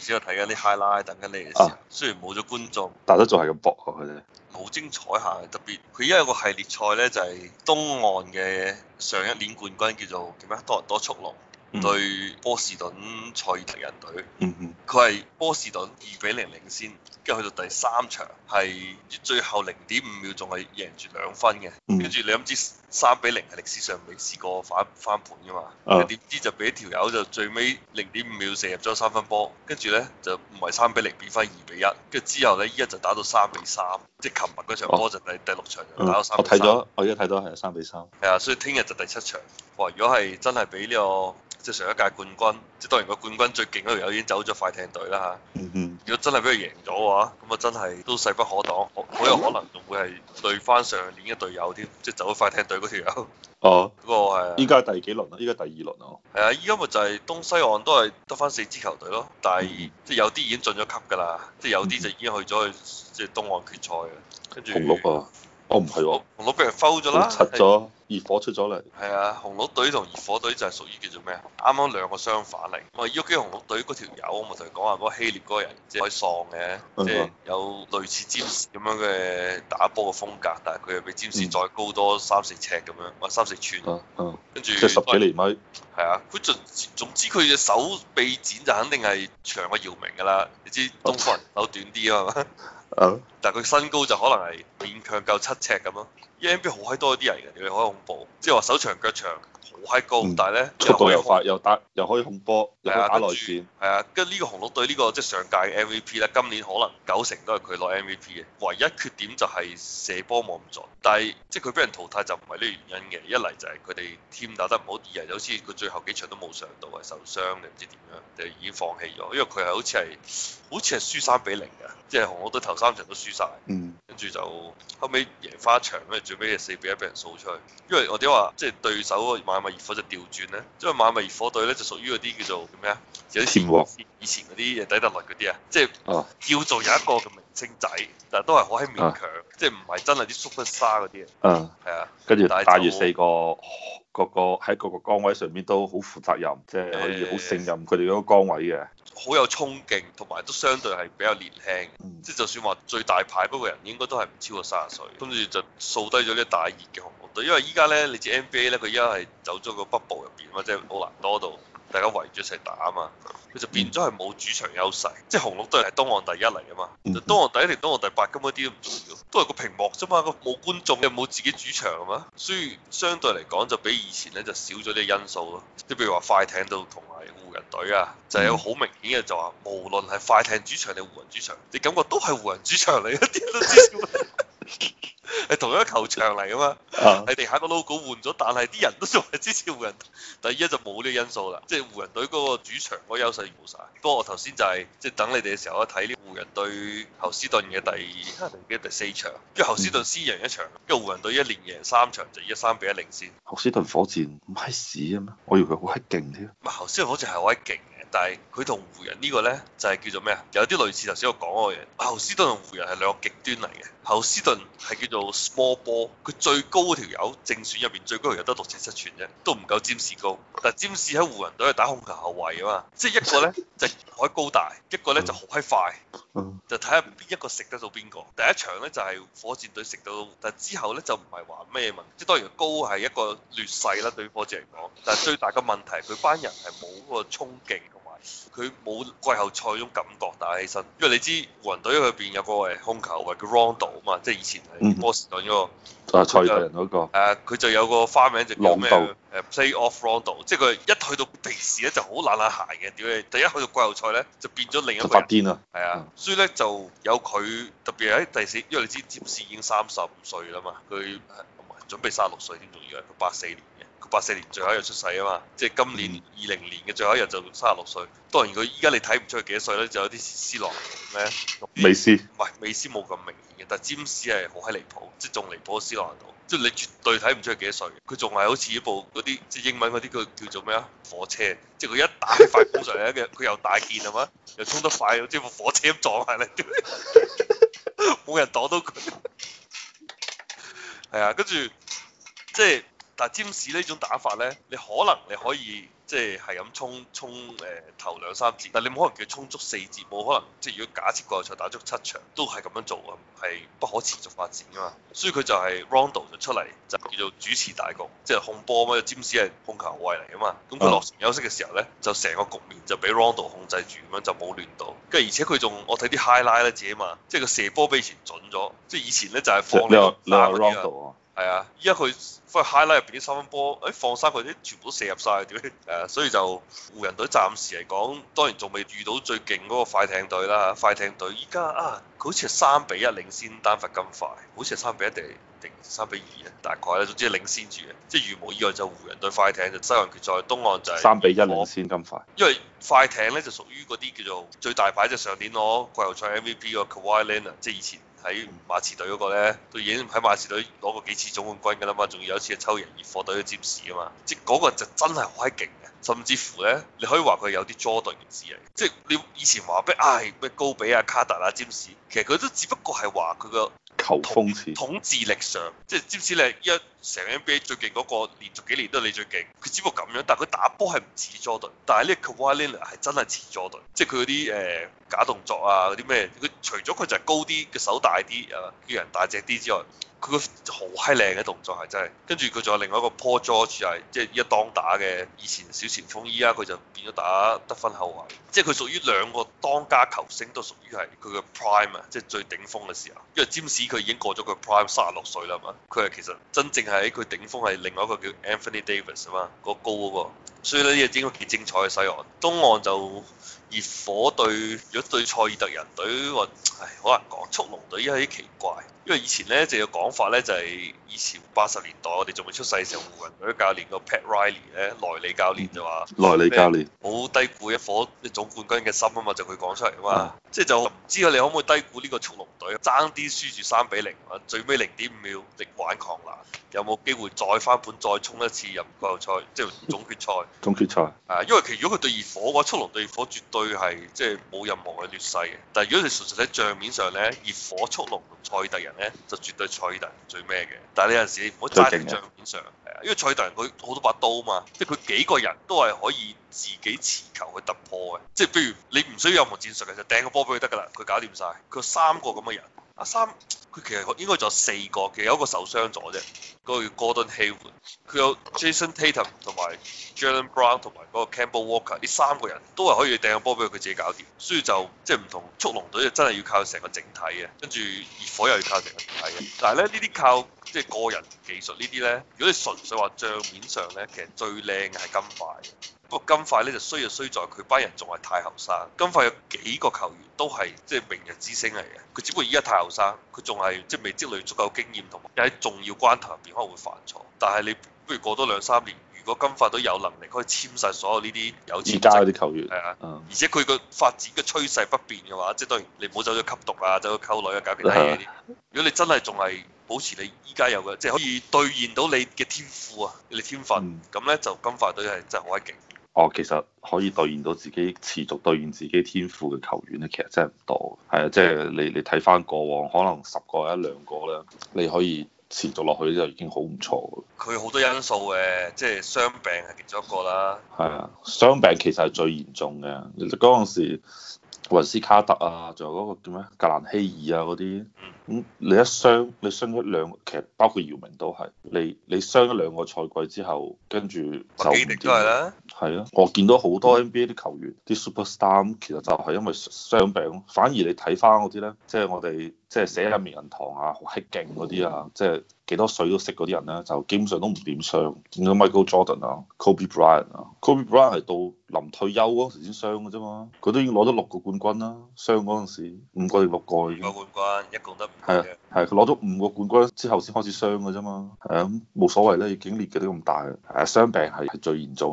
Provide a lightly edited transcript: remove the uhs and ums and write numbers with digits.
先喺度睇緊啲 highlight，等緊你嘅時候， 啊雖然冇咗觀眾， 但都仲係咁搏啊佢哋。 好精彩下，特別佢依家有個系列賽咧，就係東岸嘅上一年冠軍叫做叫咩多倫多速龍。對波士頓賽爾特人隊，佢係波士頓2-0領先，跟住去到第3場係最後0.5秒仲係贏住2分嘅，跟住你諗知3-0係歷史上未試過翻盤噶嘛？點知就俾條友就最尾0.5秒射入咗3分波，跟住咧就唔係3-0變翻2-1，跟住之後咧依家就打到3-3，即係琴日嗰場波就第6場就打到3-3。 我睇咗，我而家睇到係3-3。 係啊，所以聽日就第7場。哇！如果係真係俾呢個即係上一屆冠軍，即係當然個冠軍最勁嗰條友已經走咗快艇隊啦嚇。如果真係俾佢贏咗嘅話，咁啊真係都勢不可擋，好有可能仲會係對翻上年嘅隊友添，即係走咗快艇隊嗰條友。 哦， 嗰個係。 依家第幾輪啊？依家第2輪啊。 係啊，依家咪就係東西岸都係得翻4支球隊咯，但係即係有啲已經進咗級㗎啦，即係有啲就已經去咗去即係東岸決賽嘅，跟住。 紅鹿啊！哦，唔係喎， 紅鹿俾人 foul 咗啦， 拆咗熱火出咗嚟。 係啊，紅鹿隊同熱火隊就係屬於叫做咩啊？啱啱兩個相反嚟。我依家記得紅鹿隊嗰條友，我咪同佢講話嗰個希臘嗰個人，即係可以喪嘅，即係有類似詹士咁樣嘅打波嘅風格，但係佢又比詹士再高多3-4尺咁樣，或3-4寸。跟住。即係10幾厘米。 係啊，佢總之佢隻手臂展就肯定係長過姚明㗎啦。你知東方人手短啲啊嘛。但係佢身高就可能係勉強夠7尺咁咯。NBA 好閪多啲人嘅，你好恐怖，即係話手長腳長，好閪高，但係咧速度又快，又可以控波，又可以打內線。 係啊，跟住呢個紅鹿隊呢個即係上屆嘅 MVP 咧，今年可能90%都係佢攞 MVP 嘅。唯一缺點就係射波冇咁準，但係即係佢俾人淘汰就唔係呢個原因嘅。一嚟就係佢哋 team 打得唔好，二嚟就好似佢最後幾場都冇上到，係受傷定唔知點樣，就已經放棄咗。因為佢係好似係輸3-0嘅，即係紅鹿隊頭3場都輸晒。跟住就後尾贏翻一場，跟住最尾係4-1俾人掃出去。因為我哋話即係對手邁阿密熱火就調轉咧，因為邁阿密熱火隊咧就屬於嗰啲叫做咩啊？有啲以前嗰啲底特律嗰啲啊，即係叫做有一個嘅明星仔，但係都係好閪勉強，即係唔係真係啲 superstar 嗰啲啊。係啊， 跟住帶住4個喺各個崗位上面都好負責任，即係可以好勝任佢哋嗰個崗位嘅。 好有衝勁，同埋都相對係比較年輕，即係就算話最大牌嗰個人應該都係唔超過30歲，跟住就掃低咗呢大熱嘅紅鹿隊。因為依家咧，你知 NBA 咧，佢依家係走咗個北部入邊嘛，即係奧蘭多度，大家圍住一齊打啊嘛，佢就變咗係冇主場優勢，即係紅鹿隊係東岸第1嚟啊嘛，東岸第1定東岸第8根本啲都唔重要，都係個屏幕啫嘛，個冇觀眾又冇自己主場啊嘛，所以相對嚟講就比以前咧就少咗啲因素咯，即係譬如話快艇度同埋湖人隊啊，就係有好明顯嘅就話，無論係快艇主場定湖人主場，你感覺都係湖人主場嚟，啲都知係同一個球場嚟噶嘛，喺地下個 logo 換咗，但係啲人都仲係支持湖人隊，但係依家就冇呢個因素啦，即係湖人隊嗰個主場嗰個優勢冇晒。不過我頭先就係即係等你哋嘅時候，我睇呢湖人對侯斯頓嘅第4場，跟住侯斯頓先贏1場，跟住湖人隊一連贏3場，就依家3-1領先。 侯斯頓火箭唔係屎啊咩？我以為佢好閪勁添。 唔係侯斯頓火箭係好閪勁嘅，但係佢同湖人呢個咧就係叫做咩啊？有啲類似頭先我講嗰個嘢。侯斯頓同湖人係兩個極端嚟嘅。侯斯頓係叫做 small ball，佢最高嗰條友正選入邊最高條友得6尺7寸啫，都唔夠詹士高。但係詹士喺湖人隊係打控球後衞啊嘛，即係一個咧就好高大，一個咧就好閪快，就睇下邊一個食得到邊個。第一場咧就係火箭隊食到，但係之後咧就唔係話咩問題，即係當然高係一個劣勢啦，對於火箭嚟講。但係最大嘅問題係佢班人係冇嗰個衝勁。佢冇季後賽嗰種感覺打起身，因為你知湖人隊入邊有個控球位叫 Rondo 啊嘛，即係以前係波士頓嗰個賽爾特人嗰個。 佢就有個花名就叫咩？Play Off Rondo，即係佢一去到平時咧就好懶懶閒嘅，屌你！第一去到季後賽咧就變咗另一個人。 發癲啊！ 係啊，所以咧就有佢特別喺第4，因為你知詹士已經35歲啦嘛，佢準備36歲添，仲要係佢84年。84年最後一日出世啊嘛，即係今年20年嘅最後一日就36歲。當然佢依家你睇唔出佢幾多歲咧，就有啲斯朗咩？ 美斯唔係美斯冇咁明顯嘅，但係詹士係好閪離譜，即係仲離譜過斯朗度，即係你絕對睇唔出佢幾多歲。佢仲係好似一部嗰啲即係英文嗰啲叫做咩啊火車，即係佢一打起快攻上嚟咧，佢又大件係嘛，又衝得快，即係部火車咁撞下嚟，冇人擋到佢。係啊，跟住即係。 但係占士呢種打法咧，你可以即係咁衝頭兩三節，但係你冇可能叫衝足四節，冇可能即係如果假設季後賽打足7場都係咁樣做啊，係不可持續發展噶嘛。所以佢就係 Rondo 就出嚟就叫做主持大局，即係控波嘛，占士係控球後衛嚟噶嘛。咁佢落場休息嘅時候咧，就成個局面就俾 Rondo 控制住咁樣，就冇亂到。跟住而且佢仲我睇啲 highlight 咧自己嘛，即係個射波比以前準咗，即係以前咧就係放你三嗰啲啊。係啊，依家佢翻去 highlight 入邊啲三分波，放生佢啲全部都射入晒，點解？所以就湖人隊暫時嚟講，當然仲未遇到最勁嗰個快艇隊啦。快艇隊依家佢好似係3-1領先丹佛金塊，好似係3-1定3-2啊，大概咧，總之係領先住嘅。即係如無意外就湖人對快艇就西岸決賽，東岸就係 3-1領先金塊。 因為快艇咧就屬於嗰啲叫做最大牌，就上年攞季後賽 MVP 個 Kawhi Leonard，即係以前喺馬刺隊嗰個咧，都已經喺馬刺隊攞過幾次總冠軍㗎啦嘛，仲要有一次係抽贏熱火隊嘅占士啊嘛，即係嗰個就真係好閪勁嘅，甚至乎咧你可以話佢有啲 Jordan 嘅字嚟，即係你以前話咩高比啊、卡特啊、占士，其實佢都只不過係話佢個球風似統治力上，即係占士你一成 NBA 最勁嗰個，連續幾年都係你最勁，佢只不過咁樣，但係佢打波係唔似 Jordan，但係呢個 Kawhi Leonard 係真係似 Jordan，即係佢嗰啲假動作啊嗰啲咩，佢除咗佢就係高啲嘅手大啲叫人大隻啲之外，佢個好閪靚嘅動作係真係，跟住佢仲有另外一個 Paul George 係即係依家當打嘅以前小前鋒，依家佢就變咗打得分後衞，即係佢屬於兩個當家球星都屬於係佢嘅 prime 啊，即係最頂峰嘅時候。因為詹士佢已經過咗佢 prime 36歲啦嘛，佢係其實真正係喺佢頂峰係另外一個叫 Anthony Davis 啊嘛，個高嗰個，所以呢啲應該幾精彩嘅西岸。東岸就熱火對如果對塞爾特人隊，好難講，速龍隊依家有啲奇怪。因為以前咧就有講法咧，就係以前80年代我哋仲未出世嘅時候，湖人隊教練個 Pat Riley 咧，萊利教練就話， 萊利教練好低估一顆總冠軍嘅心啊嘛，就佢講出嚟啊嘛，即係就唔知你可唔可以低估呢個速龍隊，爭啲輸住3-0，最尾0.5秒力挽狂瀾，有冇機會再翻盤再衝一次入季後賽，即係總決賽？ 總決賽因為其實如果佢對熱火嘅話，速龍對熱火絕對係即係冇任何嘅劣勢嘅。但係如果你純粹喺帳面上咧，熱火、速龍同塞爾特人咧，就絕對塞爾特人最咩嘅。但係你有陣時你唔好齋喺帳面上，因為塞爾特人佢好多把刀嘛，即係佢幾個人都係可以自己持球去突破嘅。即係譬如你唔需要任何戰術嘅，就掟個波俾佢得㗎啦，佢搞掂晒。佢有3個咁嘅人。佢其實應該仲有4個，其實有一個受傷咗啫，嗰個叫 Gordon Hayward，佢有 Jason Tatum 同埋 Jaylen Brown 同埋嗰個 Kemba Walker，呢3個人都係可以掟個波俾佢自己搞掂，所以就即係唔同速龍隊就真係要靠成個整體嘅，跟住熱火又要靠成個整體嘅，但係咧呢啲靠即係個人技術呢啲咧，如果你純粹話帳面上咧，其實最靚嘅係金塊。不過金塊咧就衰在佢班人仲係太後生，金塊有幾個球員都係即係明日之星嚟嘅，佢只不過依家太後生，佢仲係即係未積累足夠經驗，同埋喺重要關頭入邊可能會犯錯。但係你不如過多2-3年，如果金塊都有能力可以簽晒所有呢啲有錢啲球員， 係啊，而且佢個發展嘅趨勢不變嘅話，即係當然你唔好走咗吸毒啊，走咗溝女啊，搞其他嘢啲。如果你真係仲係保持你依家有嘅，即係可以兌現到你嘅天賦啊，你天分，咁咧就金塊隊係真係好鬼勁。 其實可以兌現到自己持續兌現自己天賦嘅球員咧，其實真係唔多。係啊，即係你睇翻過往，可能10個1-2個咧，你可以持續落去就已經好唔錯。 佢好多因素嘅，即係傷病係其中一個啦。 係啊，傷病其實係最嚴重嘅。嗰陣時，雲斯卡特啊，仲有嗰個叫咩格蘭希爾啊嗰啲，咁你一傷，你傷1-2，其實包括姚明都係，你傷1-2個賽季之後，跟住就唔掂。係啊，我見到好多 NBA 啲球員，啲 superstar 其實就係因為傷病。反而你睇翻嗰啲咧，即係我哋即係寫入名人堂啊，好閪勁嗰啲啊，即係幾多水都識嗰啲人咧，就基本上都唔點傷。見到 Michael Jordan 啊、Kobe Bryant 啊，Kobe Bryant 係到臨退休嗰時先傷嘅啫嘛，佢都已經攞咗6個冠軍啦，傷嗰陣時5個定6個已經。 5個冠軍，一共得5個。 係佢攞咗5個冠軍之後先開始傷嘅啫嘛，係啊，咁冇所謂啦，已經年紀都咁大，傷病係最嚴重。